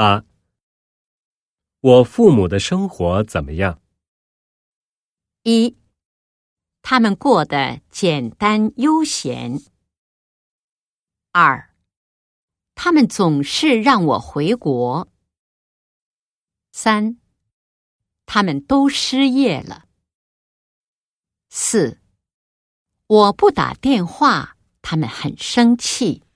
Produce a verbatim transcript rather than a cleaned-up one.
八，我父母的生活怎么样？ 一，他们过得简单悠闲。二，他们总是让我回国。三，他们都失业了。四，我不打电话，他们很生气。